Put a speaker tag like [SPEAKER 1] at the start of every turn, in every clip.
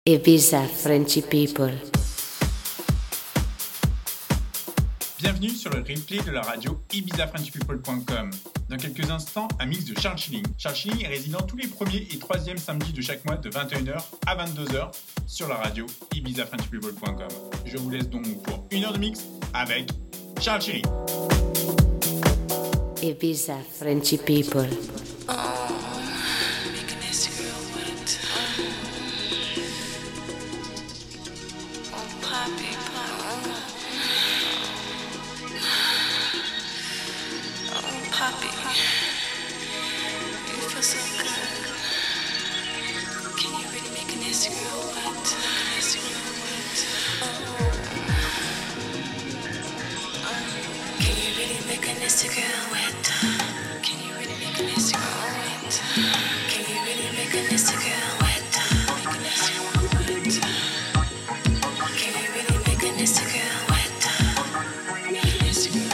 [SPEAKER 1] Ibiza Frenchy People.
[SPEAKER 2] Bienvenue sur le replay de la radio ibizafrenchpeople.com. Dans quelques instants, un mix de Charles Chilling. Charles Chilling est résident tous les premiers et troisièmes samedis de chaque mois de 21h à 22h sur la radio ibizafrenchpeople.com. Je vous laisse donc pour une heure de mix avec Charles Chilling.
[SPEAKER 1] Ibiza Frenchy People.
[SPEAKER 3] Poppy, you feel so good. Can you really make a nasty girl wet? Nasty girl wet. Can you really make a nasty girl wet? Can you really make a nasty girl wet? Can you really make a nasty girl wet? Make a nasty girl wet. Can you really make a nasty girl wet? Make a nasty girl wet.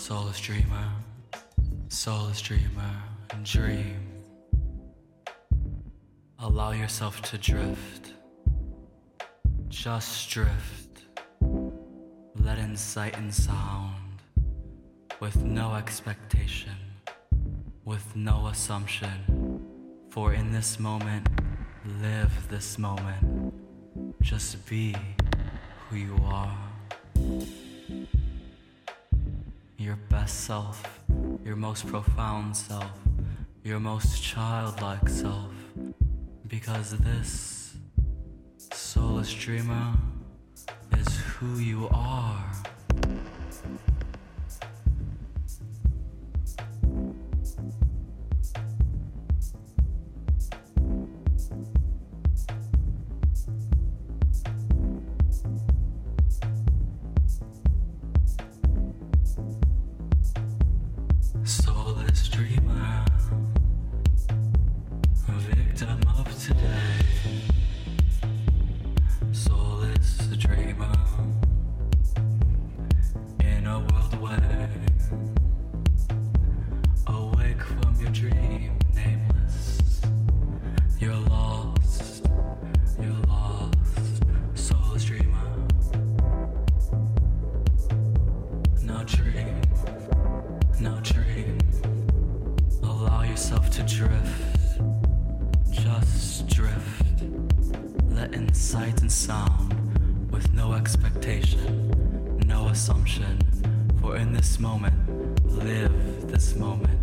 [SPEAKER 4] Soulless dreamer, dream. Allow yourself to drift. Just drift. Let in sight and sound. With no expectation. With no assumption. For in this moment, live this moment. Just be who you are. Your best self, your most profound self, your most childlike self. Because this soulless dreamer is who you are. Soulless dreamer, victim of today. Soulless dreamer, in a world away. Awake from your dream, nameless. You're lost, you're lost. Soulless dreamer, now dream. Now dream, allow yourself to drift, just drift. Let in sight and sound, with no expectation, no assumption. For in this moment, live this moment.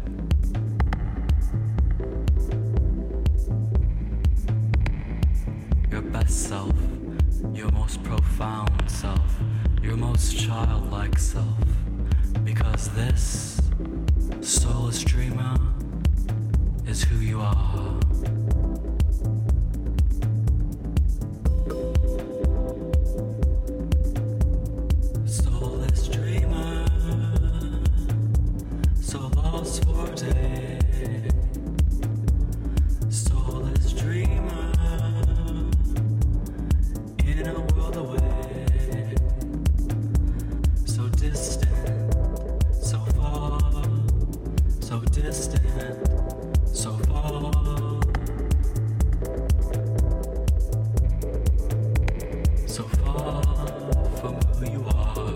[SPEAKER 4] Your best self, your most profound self, your most childlike self. Because this soulless dreamer is who you are. Soulless dreamer, so lost for a day. Soulless dreamer, in a world away. So distant. So distant, so far. So far from who you are.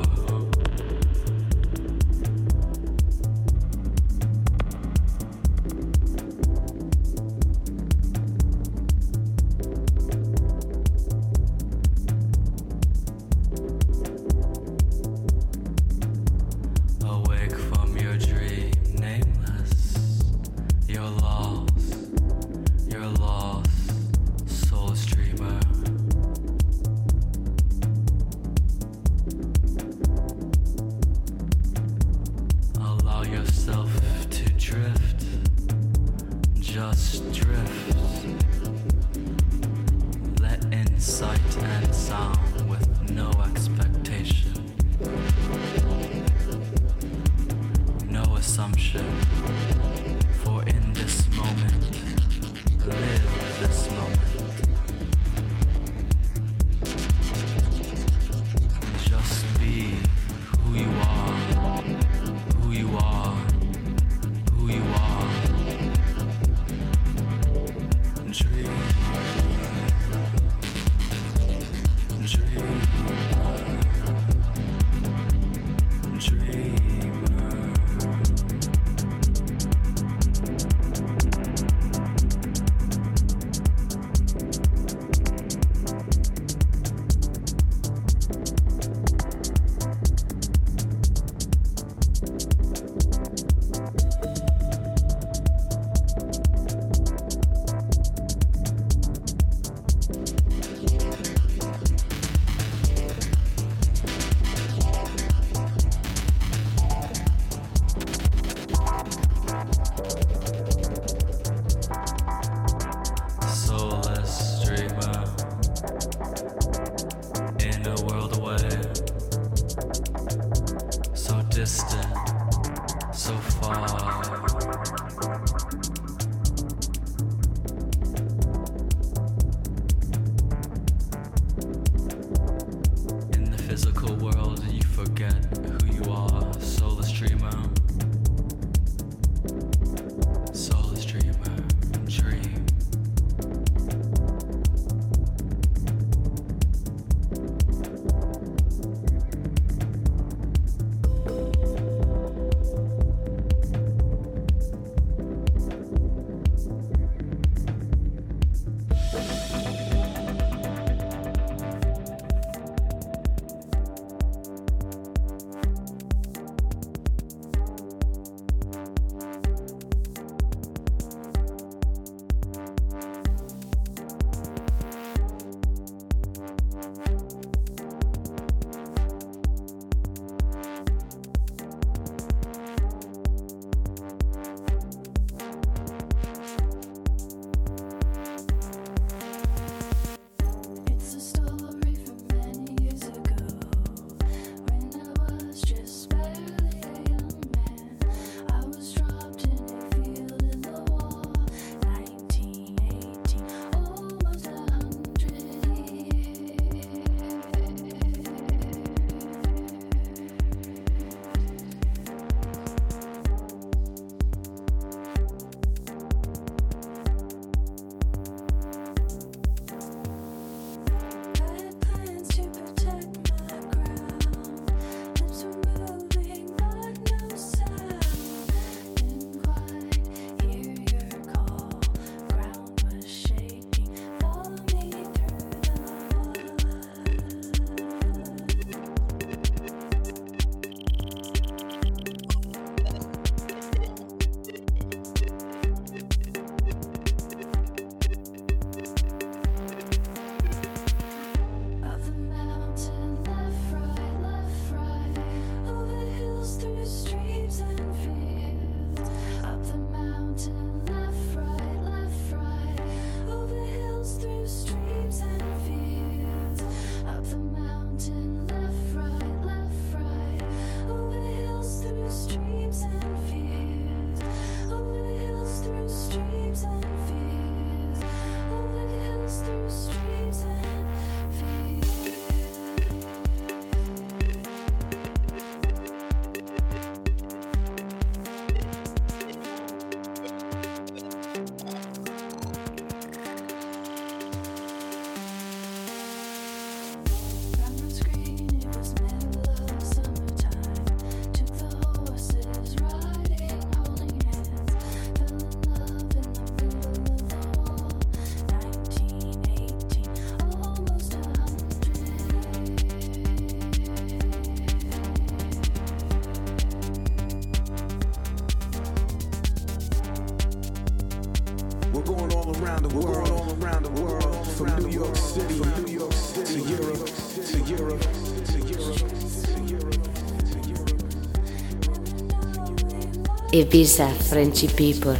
[SPEAKER 4] Awake from your dream, nameless. You're lost, soulless dreamer. Allow yourself to drift, just drift. Let in sight and sound with no expectation. No assumption, for in this moment, live this moment. Just be who you are, who you are, who you are. Dream, dream, dreamer. Soulless dreamer, in a world away. So distant, so far. In the physical world, you forget who you are, soulless dreamer.
[SPEAKER 5] all around the world, from New York City to Europe, to Europe, to Europe, to Europe.
[SPEAKER 1] Ibiza Frenchy people.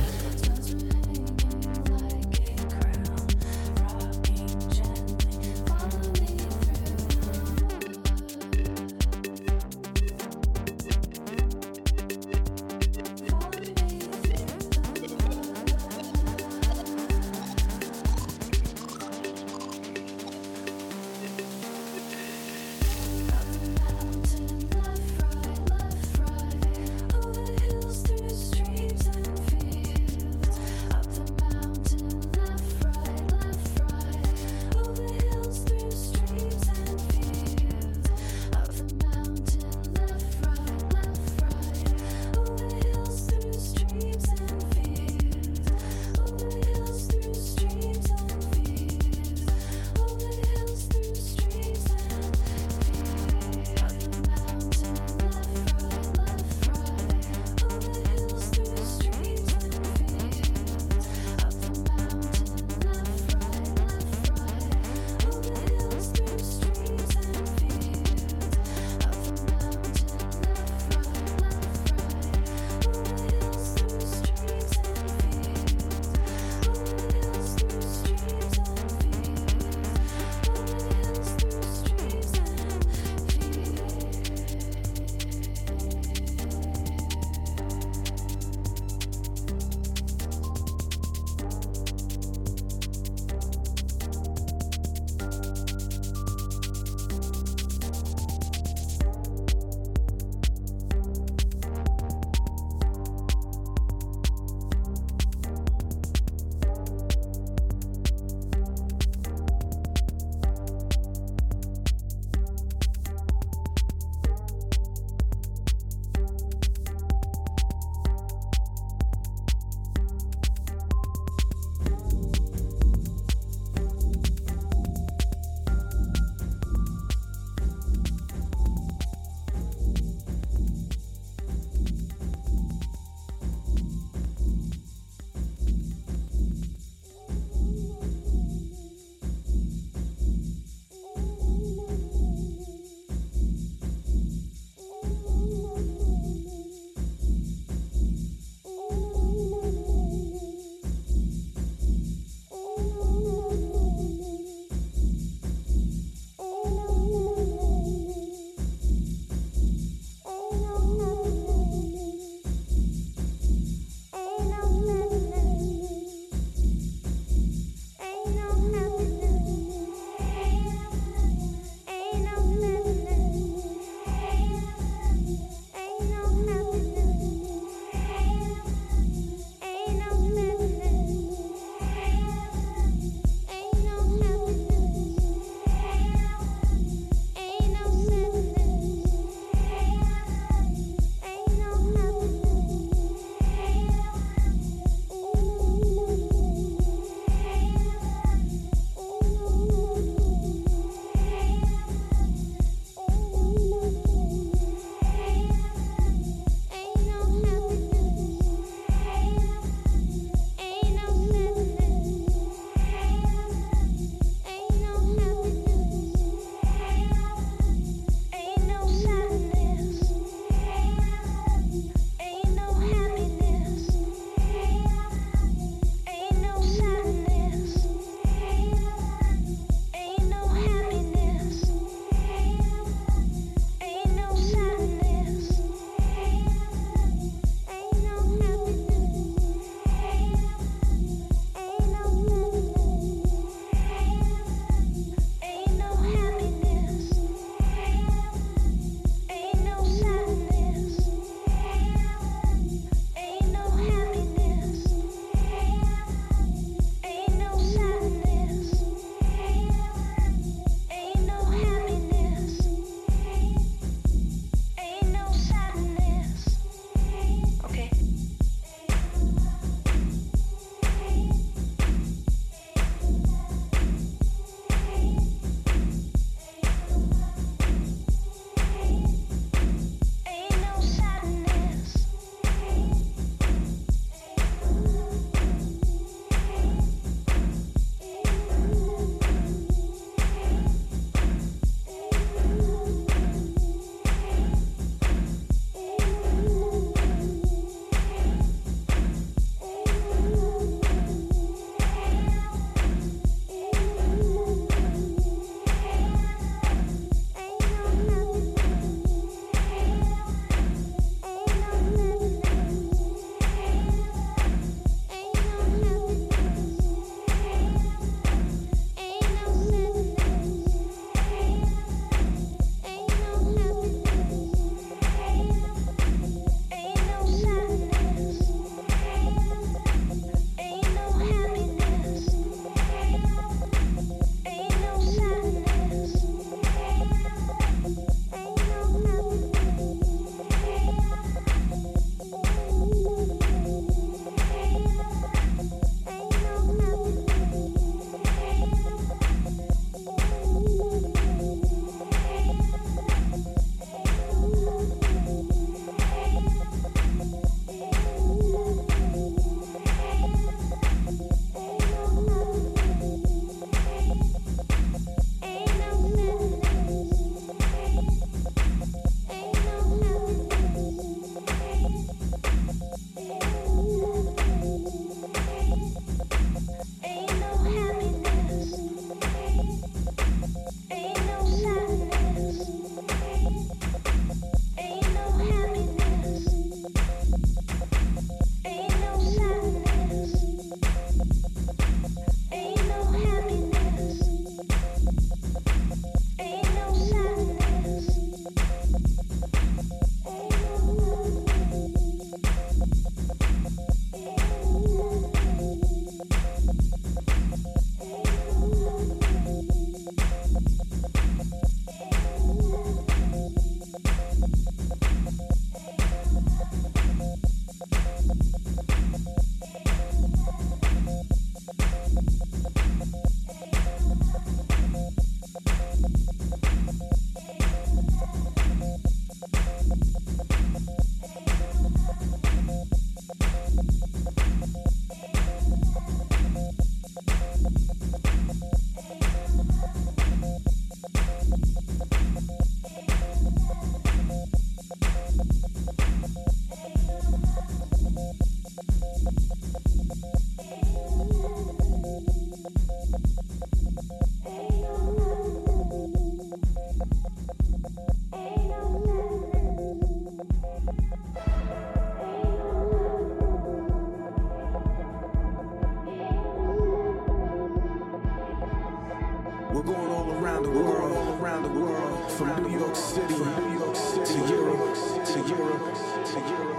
[SPEAKER 5] We're going all around the world, all around the world, from New York City, to Europe, to Europe, to Europe.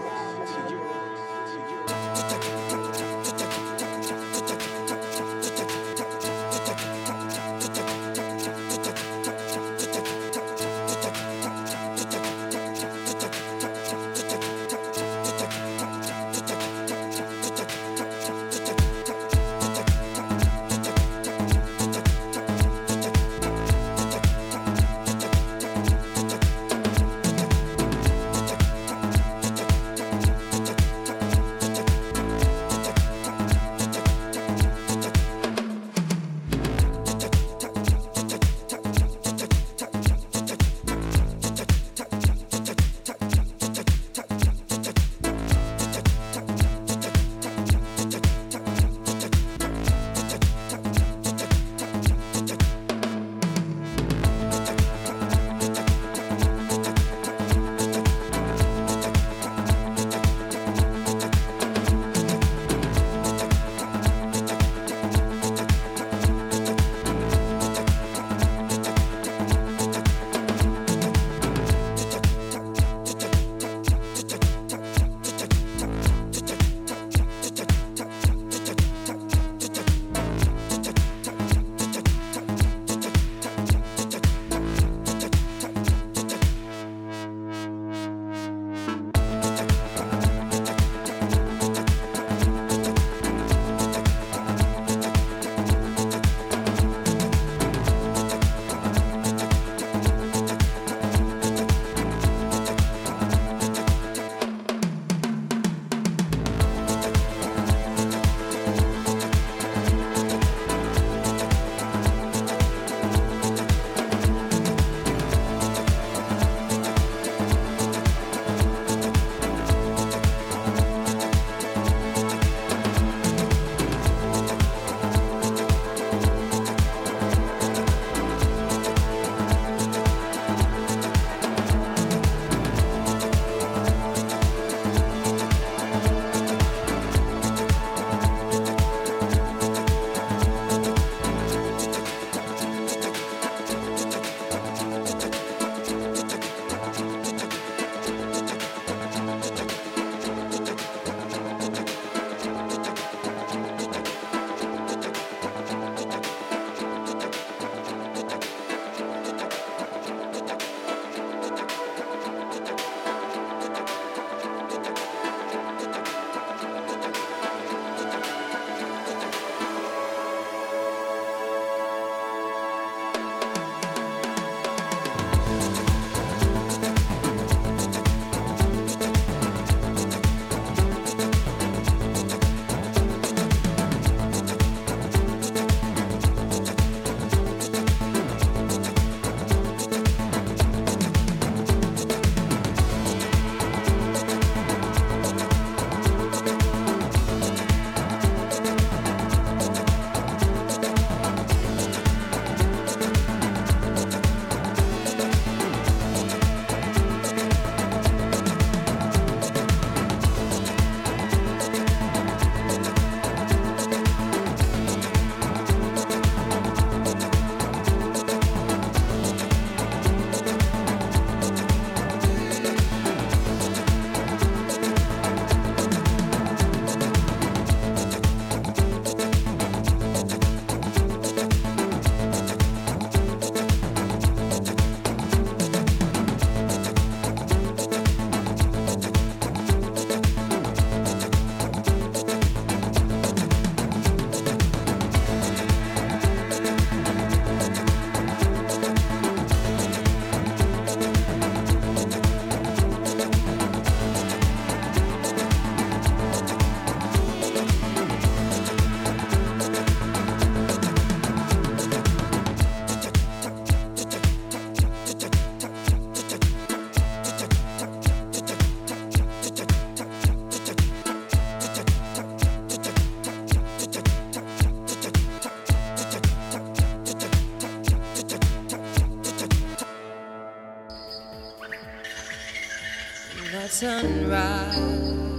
[SPEAKER 6] that sunrise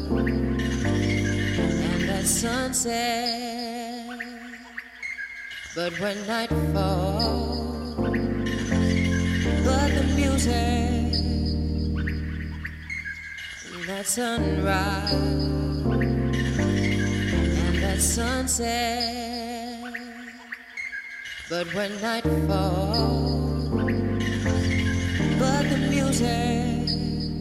[SPEAKER 6] and that sunset, But when night falls, but the music, that sunrise and that sunset. But when night falls, but the music,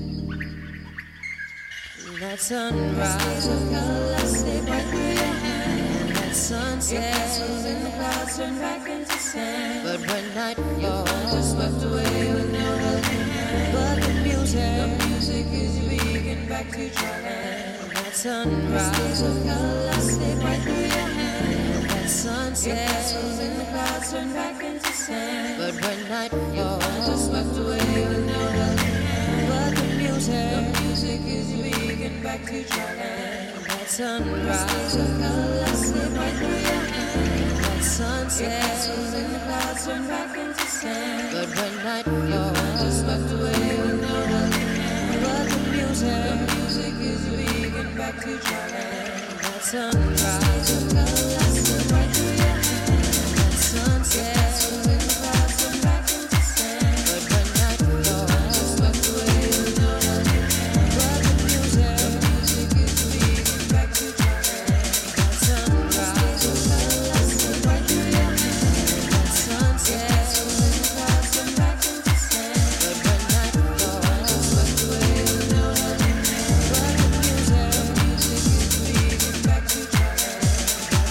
[SPEAKER 6] that sunrise of color stay right through your hand. That sunset, your castles in the clouds turn back into sand. But when night falls, just swept away with no helping hand. But the music is your beacon back to your land. That sunrise of color stay right through your hand. That sunset, your castles in the clouds turn back into sand. But when night falls, just swept away with no helping hand. But the music is your beacon back to your land. That sunrise of color slip right through your hand. That sunset, your castles in the clouds turn back into sand. But when night falls, just swept away with no helping hand. But the music is your beacon back to your land. That sunrise of color slip right through your hand. That sunset, your castles in the clouds turn back into sand. But when night falls, just swept away with no helping hand. But the music is your beacon back to your land. That sunrise of color slip right through your hand. That sunset, your castles in the clouds turn back into sand. But when night falls, just swept away with no helping hand. But the music is your beacon back to your land. That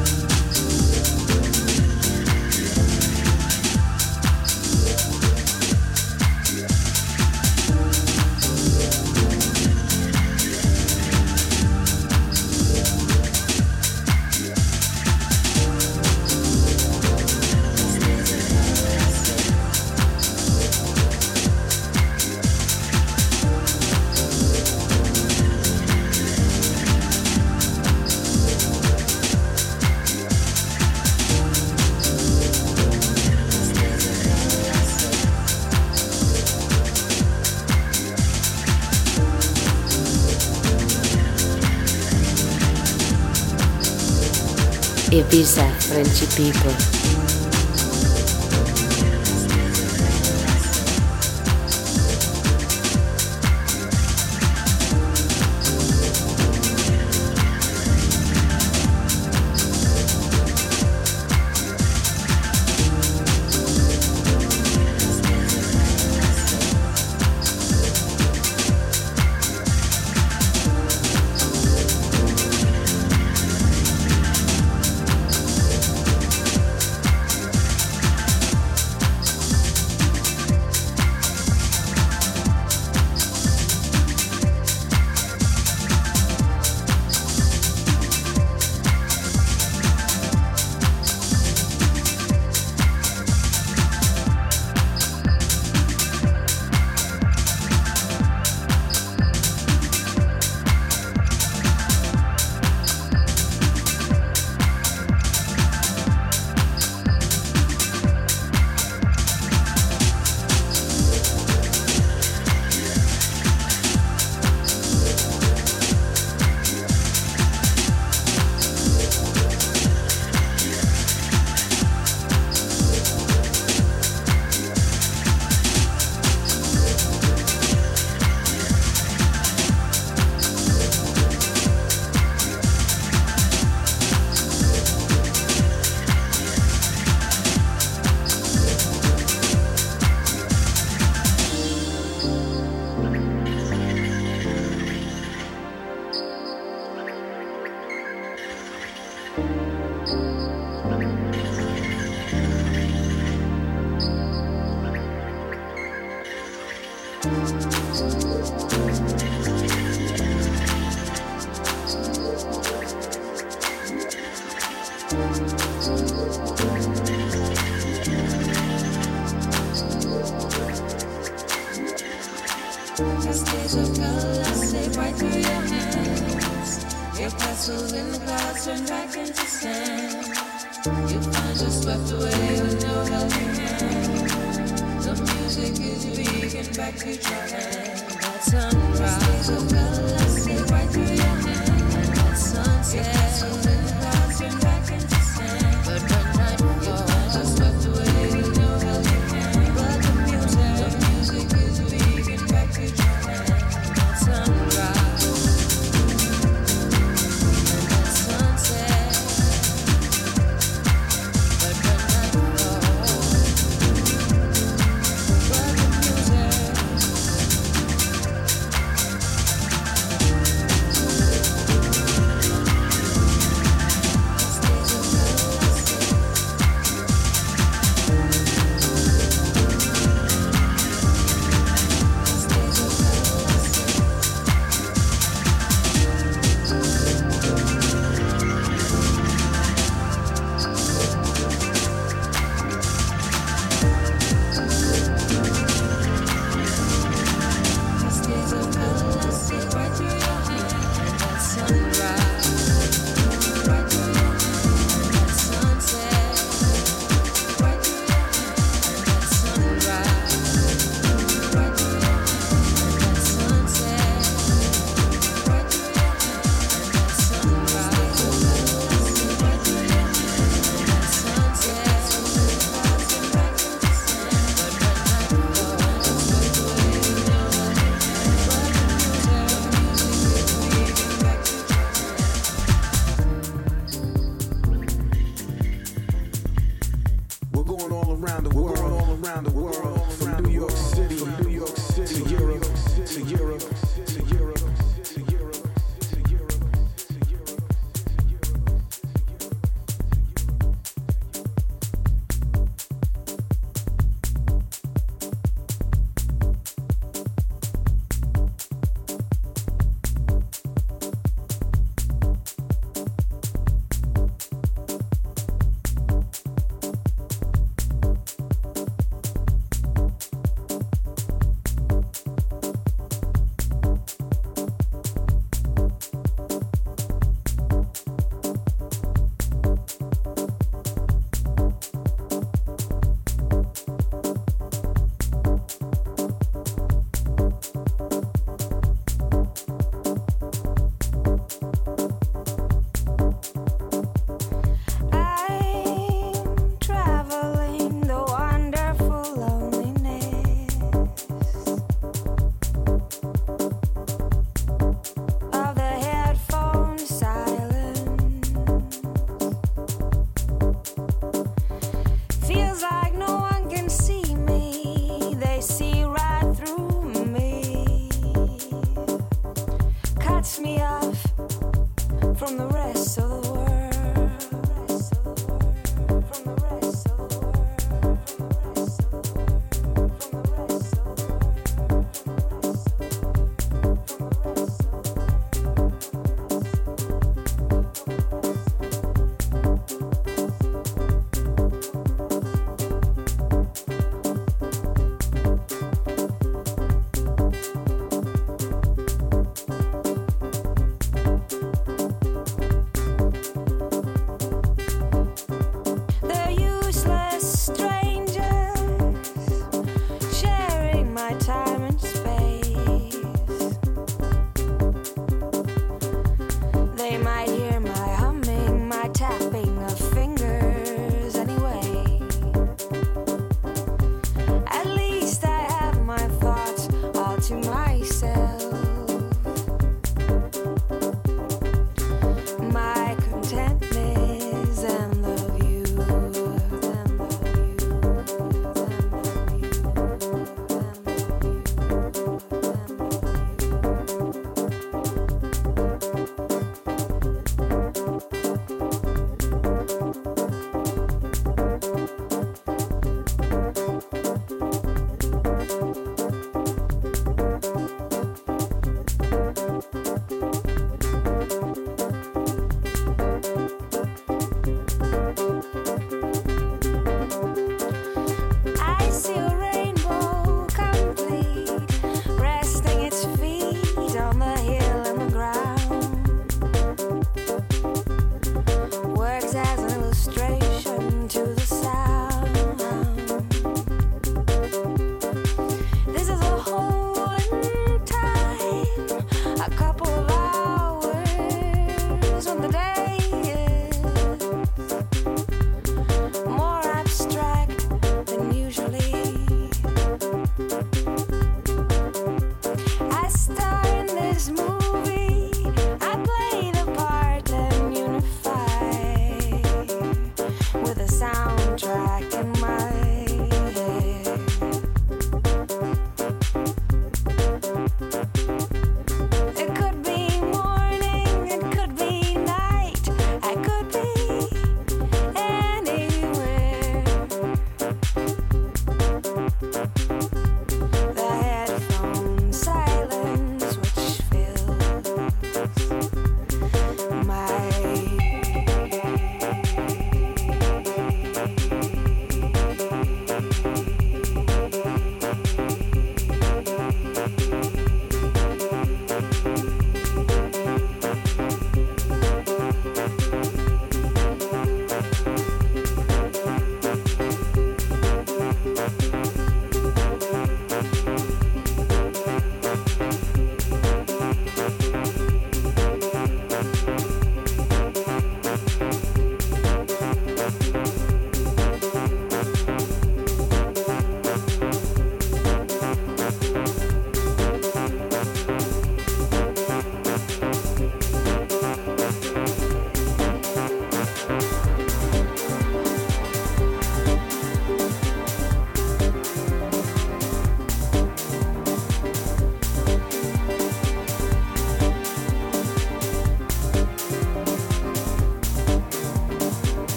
[SPEAKER 1] Ibiza Frenchy people.
[SPEAKER 6] Cascades of color slip right through your hands. Your castles in the clouds turn back into sand. You find you're swept away with no helping hand. The music is your beacon back to your land. That sunrise of color slip right through your hands. That sunset, your castles in the clouds turn back into sand. But when night
[SPEAKER 5] around the world, all around the world, from New York City to Europe, to Europe, to Europe.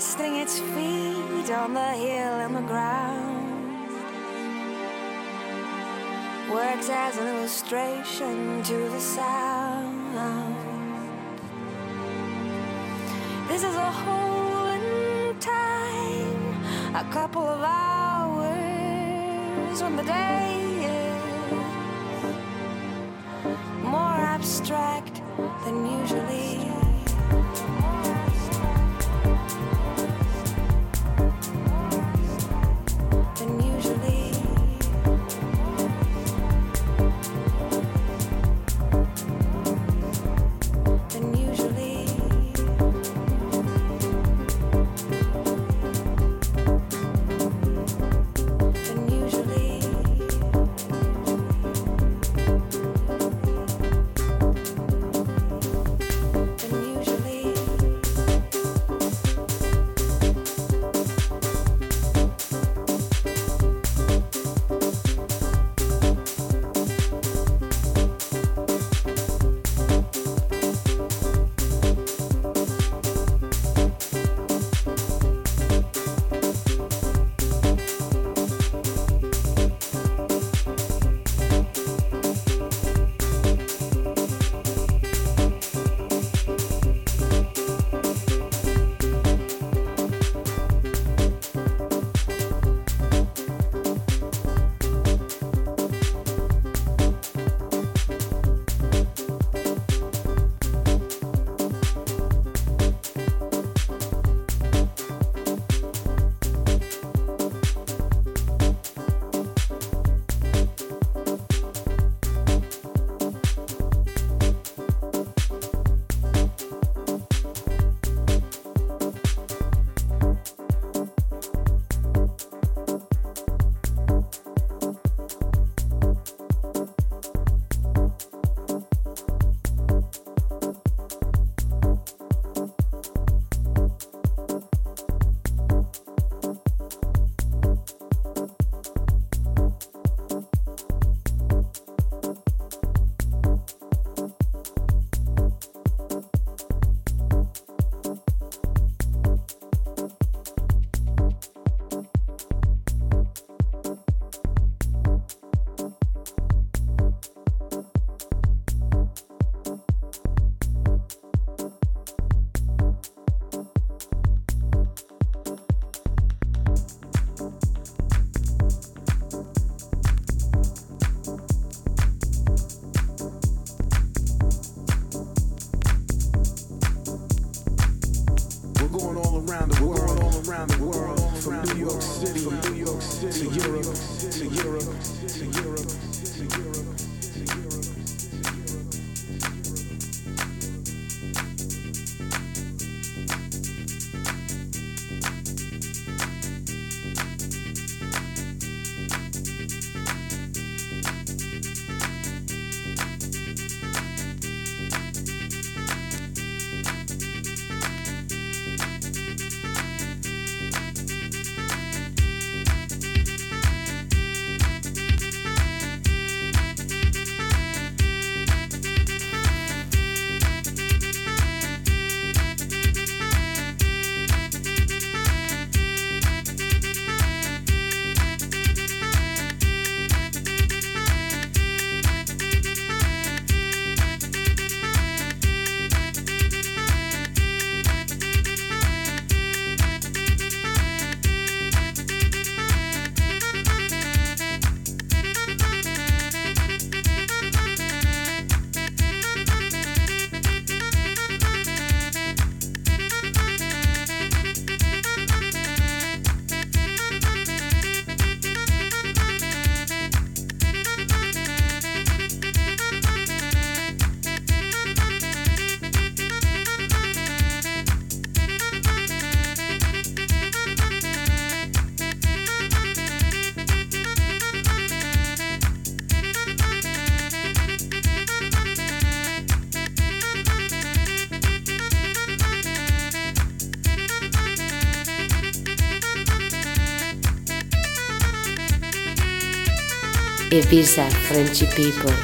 [SPEAKER 7] resting its feet on the hill and the ground, works as an illustration to the sound. This is a hole in time, a couple of hours when the day is more abstract than usually.
[SPEAKER 1] Ibiza Frenchy people.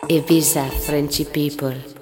[SPEAKER 1] Ibiza Frenchy people.